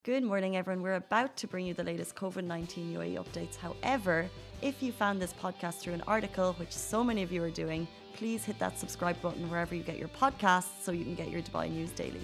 Good morning, everyone. We're about to bring you the latest COVID-19 UAE updates. However, if you found this podcast through an article, which so many of you are doing, please hit that subscribe button wherever you get your podcasts so you can get your Dubai news daily.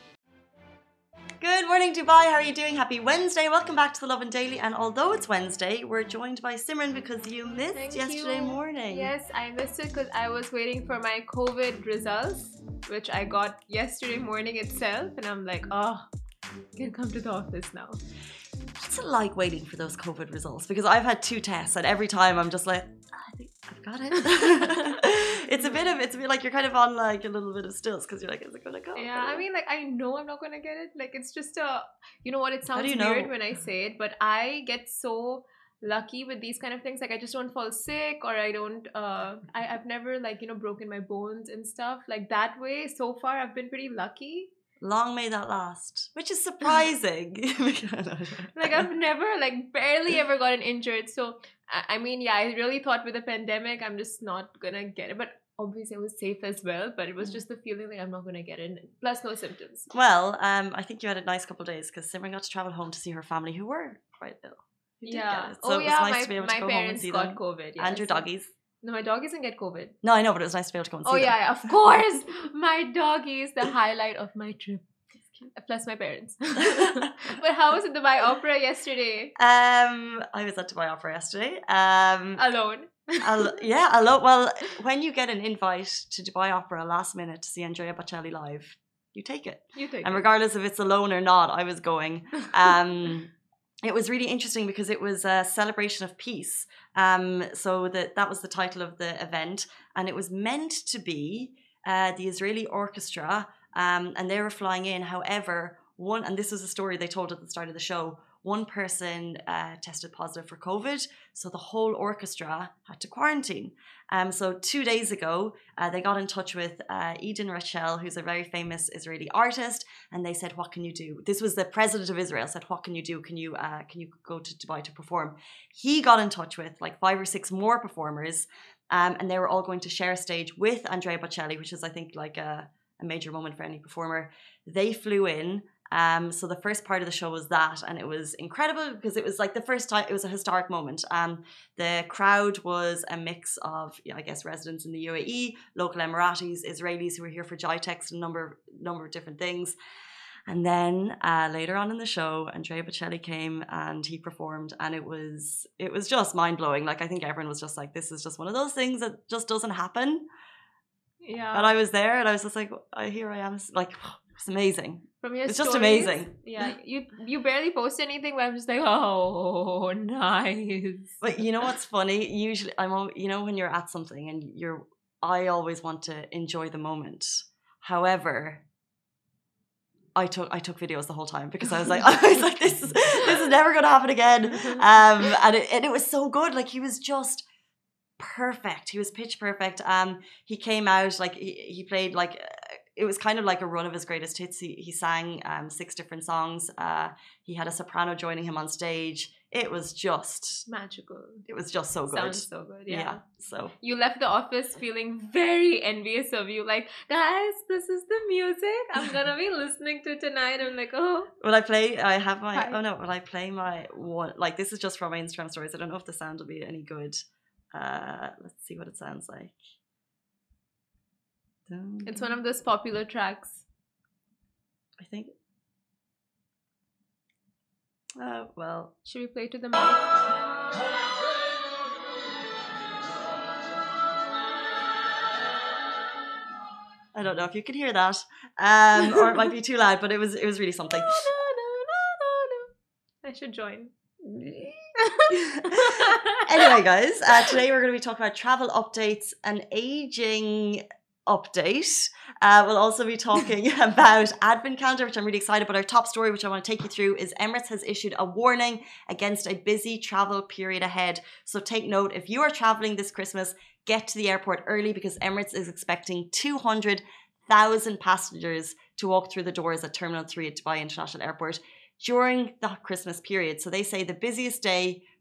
Good morning, Dubai. How are you doing? Happy Wednesday. Welcome back to the Lovin Daily. And although it's Wednesday, we're joined by Simran because you missed yesterday morning. Yes, I missed it because I was waiting for my COVID results, which I got yesterday morning itself. And I'm like, I can come to the office now. What's it like waiting for those COVID results? Because I've had 2 tests and every time I'm just like, I think I've got it. It's a bit like you're kind of on like a little bit of stilts because you're like, is it going to go? Yeah, I mean, like, I know I'm not going to get it. Like, it's just you know what, it sounds weird know? When I say it, but I get so lucky with these kind of things. Like, I just don't fall sick or I don't, I've never like, broken my bones and stuff like that way. So far, I've been pretty lucky. Long may that last, which is surprising. Like, I've never, like, barely ever gotten injured. So, I mean, yeah, I really thought with the pandemic, I'm just not gonna get it. But obviously, I was safe as well. But it was just the feeling like I'm not gonna get it. Plus, no symptoms. Well, I think you had a nice couple of days because Simran got to travel home to see her family who were quite ill. Yeah. So it was nice to be able to go home and see them. My parents got COVID. Yeah, and your doggies. No, my doggies didn't get COVID. No, I know, but it was nice to be able to go and see them. Oh, yeah, of course. My doggies, the highlight of my trip. Plus my parents. But how was it Dubai Opera yesterday? I was at Dubai Opera yesterday. Alone. Yeah, alone. Well, when you get an invite to Dubai Opera last minute to see Andrea Bocelli live, you take it. And regardless if it's alone or not, I was going. It was really interesting because it was a celebration of peace. So that was the title of the event. And it was meant to be the Israeli orchestra. And they were flying in. However, and this was a story they told at the start of the show, one person tested positive for COVID. So the whole orchestra had to quarantine. So 2 days ago, they got in touch with Eden Rachel, who's a very famous Israeli artist. And they said, what can you do? This was the president of Israel said, what can you do? Can you go to Dubai to perform? He got in touch with like 5 or 6 more performers. And they were all going to share a stage with Andrea Bocelli, which is, I think, like a major moment for any performer. They flew in. So the first part of the show was that, and it was incredible because it was like the first time, it was a historic moment. The crowd was a mix of, I guess, residents in the UAE, local Emiratis, Israelis who were here for GITEX, a number of different things. And then later on in the show, Andrea Bocelli came and he performed, and it was just mind blowing. Like, I think everyone was just like, this is just one of those things that just doesn't happen. Yeah. And I was there and I was just like, here I am. Like, it's amazing. From your it's stories, just amazing. Yeah. You barely post anything, but I'm just like, oh, nice. But you know what's funny? Usually, when you're at something and I always want to enjoy the moment. However, I took videos the whole time because I was like, this is never going to happen again. And it was so good. Like, he was just perfect. He was pitch perfect. He came out like he played like it was kind of like a run of his greatest hits. He sang 6 different songs. He had a soprano joining him on stage. It was just magical. It was just so good. Sounds so good. Yeah. So you left the office feeling very envious of you. Like, guys, this is the music I'm gonna be listening to tonight. I'm like, oh. Will I play? I have my. Hi. Oh no! Will I play my one? Like, this is just from my Instagram stories. I don't know if the sound will be any good. Let's see what it sounds like. It's one of those popular tracks. I think. Well. Should we play to the mic? I don't know if you can hear that, or it might be too loud, but it was really something. I should join. Anyway, guys, today we're going to be talking about travel updates and aging update. We'll also be talking about advent calendar, which I'm really excited about. Our top story, which I want to take you through, is Emirates has issued a warning against a busy travel period ahead. So take note, if you are traveling this Christmas, get to the airport early because Emirates is expecting 200,000 passengers to walk through the doors at Terminal 3 at Dubai International Airport during the Christmas period. So they say the busiest day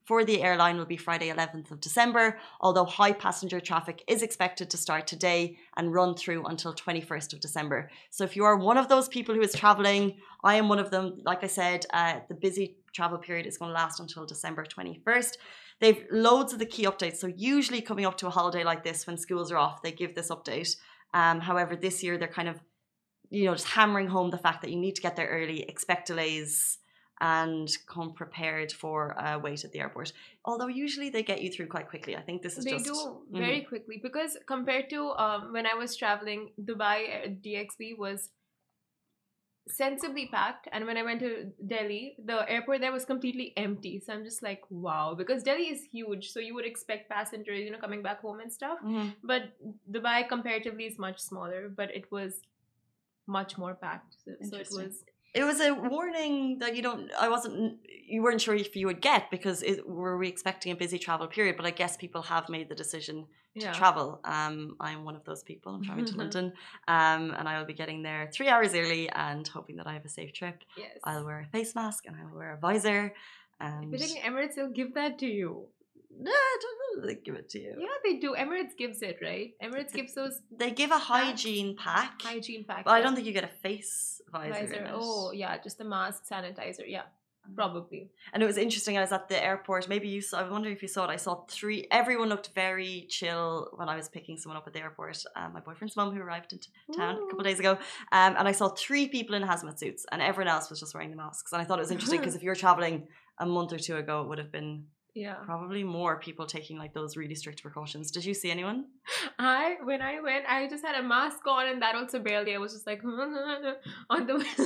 for the airline will be Friday 11th of December, although high passenger traffic is expected to start today and run through until 21st of December. So if you are one of those people who is traveling, I am one of them. Like I said, the busy travel period is going to last until December 21st. They've loads of the key updates. So usually coming up to a holiday like this, when schools are off, they give this update. However, this year they're kind of, just hammering home the fact that you need to get there early, expect delays, and come prepared for a wait at the airport. Although usually they get you through quite quickly. I think this is they do very quickly, because compared to when I was traveling, Dubai DXB was sensibly packed, and when I went to Delhi, the airport there was completely empty. So I'm just like, wow, because Delhi is huge, so you would expect passengers, coming back home and stuff. But Dubai comparatively is much smaller, but it was much more packed. So it was a warning that you weren't sure if you would get, because were we expecting a busy travel period? But I guess people have made the decision to travel. I'm one of those people. I'm traveling to London, and I will be getting there 3 hours early and hoping that I have a safe trip. Yes. I'll wear a face mask and I'll wear a visor. And if you're taking Emirates, they'll give that to you. No, I don't know. They give it to you. Yeah, they do. Emirates gives it, right? Emirates gives those. They give a hygiene pack. But I don't think you get a face visor. Oh, yeah, just a mask, sanitizer. Yeah, probably. And it was interesting. I was at the airport. Maybe you saw. I wonder if you saw it. I saw 3. Everyone looked very chill when I was picking someone up at the airport. My boyfriend's mum, who arrived in town a couple of days ago, and I saw 3 people in hazmat suits, and everyone else was just wearing the masks. And I thought it was interesting because if you were traveling a month or 2 ago, it would have been. Yeah, probably more people taking like those really strict precautions. Did you see anyone? When I went, I just had a mask on, and that also barely. I was just like on the way.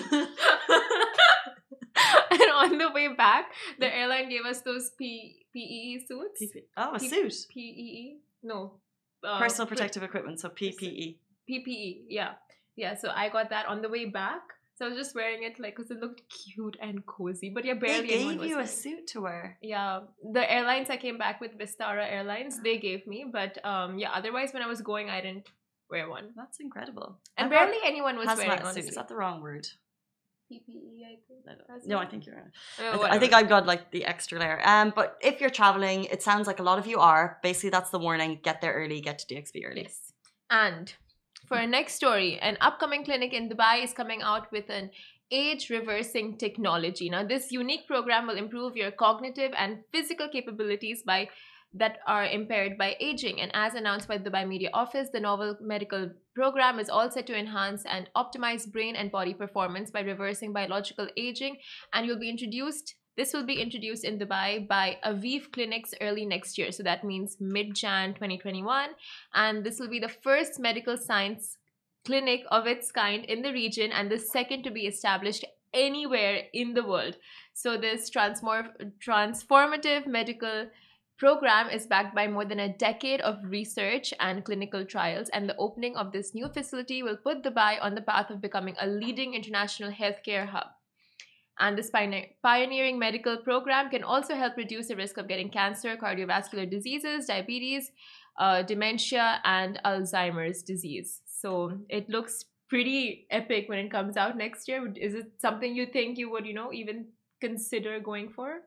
And on the way back, the airline gave us those PEE suits. A suit. PEE? No. Personal protective equipment. So PPE. PPE. Yeah. So I got that on the way back. So I was just wearing it because it looked cute and cozy. But yeah, barely anyone was. They gave you a suit to wear. Yeah. The airlines I came back with, Vistara Airlines, they gave me. But otherwise when I was going, I didn't wear one. That's incredible. And barely anyone was wearing one. Is that the wrong word? PPE, I think. No, I think you're right. I think I've got the extra layer. But if you're traveling, it sounds like a lot of you are. Basically, that's the warning. Get there early. Get to DXB early. Yes. And for our next story, an upcoming clinic in Dubai is coming out with an age-reversing technology. Now, this unique program will improve your cognitive and physical capabilities that are impaired by aging. And as announced by the Dubai Media Office, the novel medical program is all set to enhance and optimize brain and body performance by reversing biological aging, and this will be introduced in Dubai by Aviv Clinics early next year. So that means mid-Jan 2021. And this will be the first medical science clinic of its kind in the region and the second to be established anywhere in the world. So this transformative medical program is backed by more than a decade of research and clinical trials, and the opening of this new facility will put Dubai on the path of becoming a leading international healthcare hub. And this pioneering medical program can also help reduce the risk of getting cancer, cardiovascular diseases, diabetes, dementia, and Alzheimer's disease. So it looks pretty epic when it comes out next year. Is it something you think you would, even consider going for?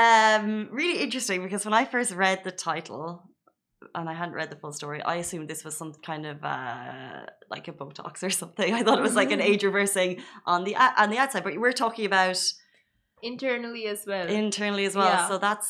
Really interesting, because when I first read the title and I hadn't read the full story, I assumed this was some kind of like a Botox or something. I thought it was like an age reversing on the outside, but we're talking about internally as well. Yeah. So that's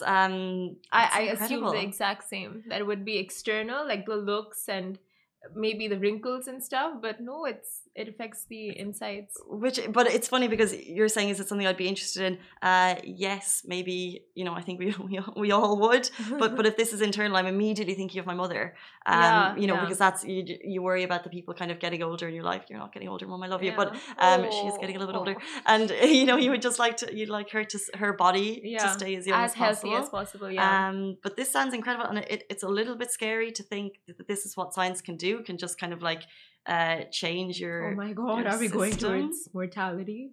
I assume the exact same. That it would be external, like the looks and maybe the wrinkles and stuff, but no, it affects the insides. But it's funny because you're saying, is it something I'd be interested in? Yes, maybe. I think we all would. But if this is internal, I'm immediately thinking of my mother. Because that's you worry about the people kind of getting older in your life. You're not getting older, Mom. I love you, but she is getting a little bit older, and you would just you'd like her body to stay as young as healthy as possible. Yeah. But this sounds incredible, and it's a little bit scary to think that this is what science can do. Can just kind of change your. Oh my God! Are we going towards mortality?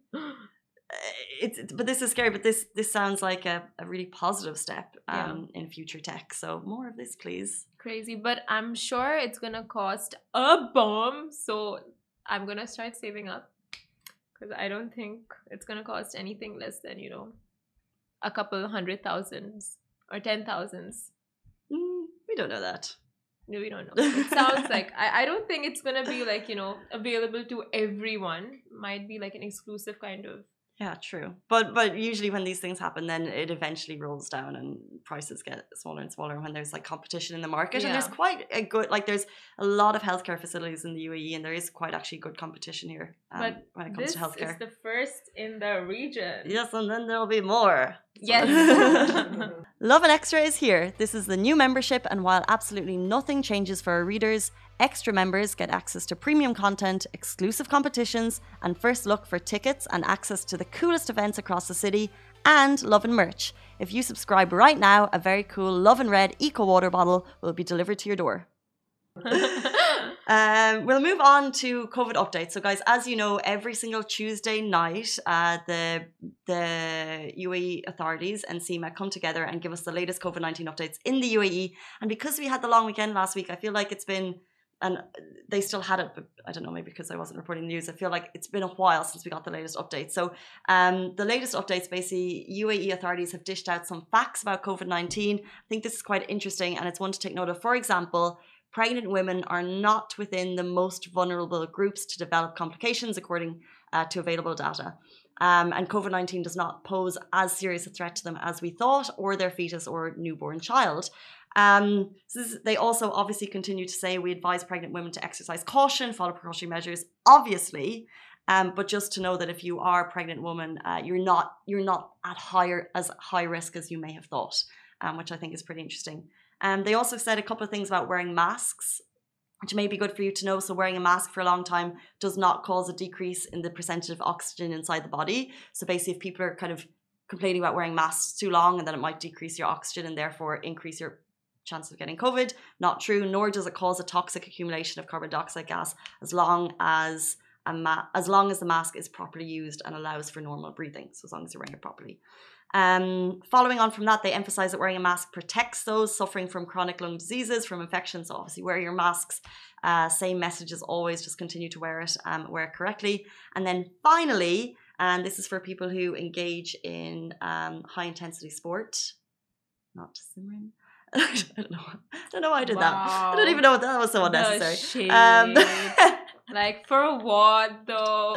But this is scary. But this sounds like a really positive step in future tech. So more of this, please. Crazy, but I'm sure it's gonna cost a bomb. So I'm gonna start saving up, because I don't think it's gonna cost anything less than a couple $100,000 or 10,000s? We don't know that. No, we don't know. It sounds like I don't think it's gonna be like, you know, available to everyone. Might be like an exclusive kind of. Yeah, true. But usually when these things happen, then it eventually rolls down and prices get smaller and smaller when there's like competition in the market. Yeah. And there's quite a good, like there's a lot of healthcare facilities in the UAE and there is quite actually good competition here when it comes to healthcare. This is the first in the region. Yes, and then there'll be more. Yes. Lovin Extra is here. This is the new membership, and while absolutely nothing changes for our readers, extra members get access to premium content, exclusive competitions, and first look for tickets and access to the coolest events across the city, and Lovin merch. If you subscribe right now, a very cool Lovin Red Eco Water bottle will be delivered to your door. We'll move on to COVID updates. So guys, as you know, every single Tuesday night, the UAE authorities and CMA come together and give us the latest COVID-19 updates in the UAE. And because we had the long weekend last week, I feel like it's been, and they still had it, but I don't know, maybe because I wasn't reporting the news, I feel like it's been a while since we got the latest updates. So the latest updates, basically, UAE authorities have dished out some facts about COVID-19. I think this is quite interesting and it's one to take note of. For example, pregnant women are not within the most vulnerable groups to develop complications, according to available data. And COVID-19 does not pose as serious a threat to them as we thought, or their fetus or newborn child. They also obviously continue to say we advise pregnant women to exercise caution, follow precautionary measures, obviously. But just to know that if you are a pregnant woman, you're not at high risk as you may have thought, which I think is pretty interesting. They also said a couple of things about wearing masks, which may be good for you to know. So wearing a mask for a long time does not cause a decrease in the percentage of oxygen inside the body. So basically, if people are kind of complaining about wearing masks too long and then it might decrease your oxygen and therefore increase your chance of getting COVID, not true, nor does it cause a toxic accumulation of carbon dioxide gas as long as the mask is properly used and allows for normal breathing. So as long as you're wearing it properly. Following on from that, they emphasize that wearing a mask protects those suffering from chronic lung diseases, from infections. So obviously wear your masks. Same message as always, just continue to wear it correctly. And then finally, and this is for people who engage in high intensity sport, not Simran. I don't know why I did that. I don't even know what that was so unnecessary. Like for what though?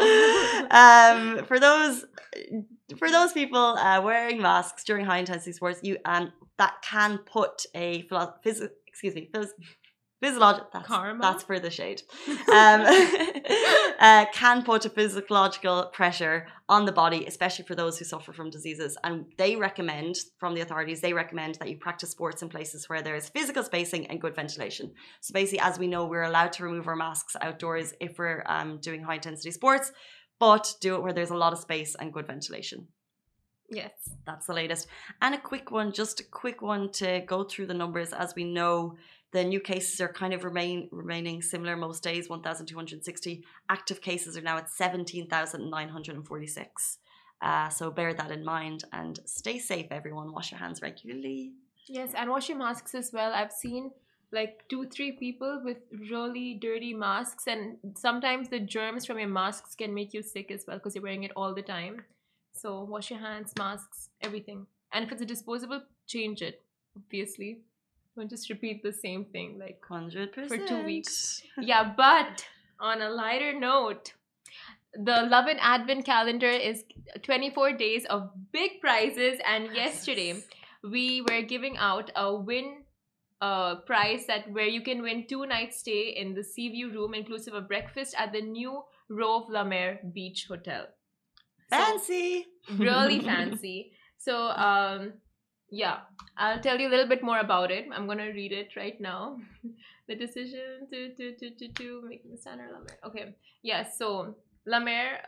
For those people wearing masks during high intensity sports, you that can put a physiological that's for the shade. Can put a physiological pressure on the body, especially for those who suffer from diseases. And they recommend, from the authorities, that you practice sports in places where there is physical spacing and good ventilation. So basically, as we know, we're allowed to remove our masks outdoors if we're doing high intensity sports, but do it where there's a lot of space and good ventilation. Yes. That's the latest. And a quick one to go through the numbers. As we know, the new cases are kind of remaining similar most days, 1,260. Active cases are now at 17,946. So bear that in mind and stay safe, everyone. Wash your hands regularly. Yes, and wash your masks as well. I've seen like 2-3 people with really dirty masks, and sometimes the germs from your masks can make you sick as well because you're wearing it all the time. So wash your hands, masks, everything. And if it's a disposable, change it, obviously. Don't just repeat the same thing like 100% for 2 weeks. Yeah, but on a lighter note, the Lovin Advent calendar is 24 days of big prizes, and yesterday we were giving out a win prize where you can win 2 nights stay in the Seaview room inclusive of breakfast at the new Rove La Mer Beach Hotel. Fancy! So, really fancy. So yeah, I'll tell you a little bit more about it. I'm gonna read it right now. The decision to making the standard La Mer. Okay, yeah. So La Mer,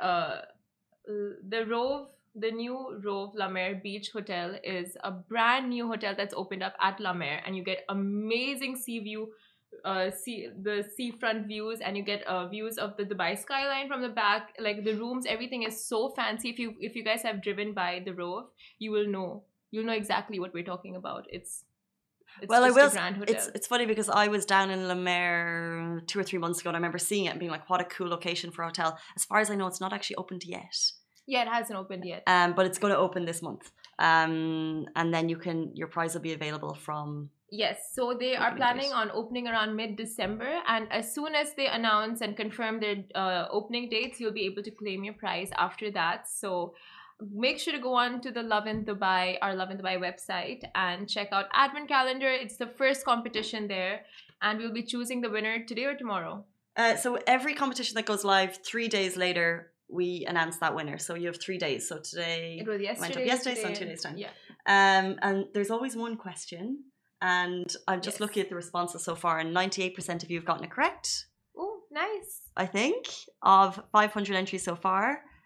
the new Rove La Mer Beach Hotel is a brand new hotel that's opened up at La Mer, and you get amazing sea view, the seafront views, and you get views of the Dubai skyline from the back. Like the rooms, everything is so fancy. If you guys have driven by the Rove, you'll know exactly what we're talking about. It's well, just a grand hotel. It's funny because I was down in La Mer 2 or 3 months ago, and I remember seeing it and being like, what a cool location for a hotel. As far as I know, it's not actually opened yet. Yeah, it hasn't opened yet. But it's going to open this month. And then your prize will be available from. Yes, so they are planning on opening around mid-December, and as soon as they announce and confirm their opening dates, you'll be able to claim your prize after that. So make sure to go on to the Lovin Dubai, our Lovin Dubai website, and check out Advent Calendar. It's the first competition there, and we'll be choosing the winner today or tomorrow. So every competition that goes live 3 days later, we announce that winner. So you have 3 days. So today it was yesterday, so in 2 days time. Yeah. And there's always one question, and I'm just looking at the responses so far, and 98% of you have gotten it correct. Oh, nice. I think of 500 entries so far.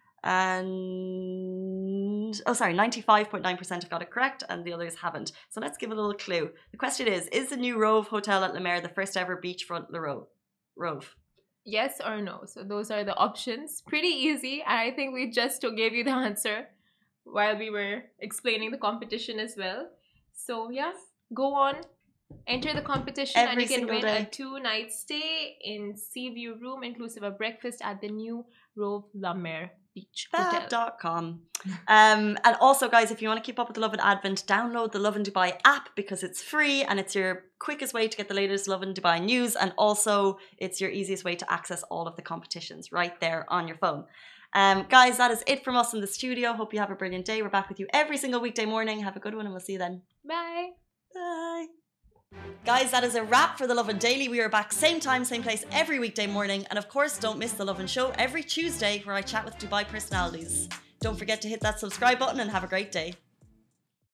And 95.9% have got it correct, and the others haven't. So let's give a little clue. The question is the new Rove Hotel at Lemaire the first ever beachfront Rove? Yes or no? So those are the options. Pretty easy, and I think we just gave you the answer while we were explaining the competition as well. So yeah, go on, enter the competition, and you can win a 2-night stay in Seaview Room, inclusive of breakfast at the new Rove Lemaire Beach Hotel. Fab.com. And also, guys, if you want to keep up with the Lovin Advent, download the Lovin Dubai app because it's free and it's your quickest way to get the latest Lovin Dubai news, and also it's your easiest way to access all of the competitions right there on your phone. Guys, that is it from us in the studio. Hope you have a brilliant day. We're back with you every single weekday morning. Have a good one, and we'll see you then. Bye. Bye. Guys, that is a wrap for the Lovin Daily. We are back same time, same place every weekday morning. And of course, don't miss the Lovin Show every Tuesday where I chat with Dubai personalities. Don't forget to hit that subscribe button and have a great day.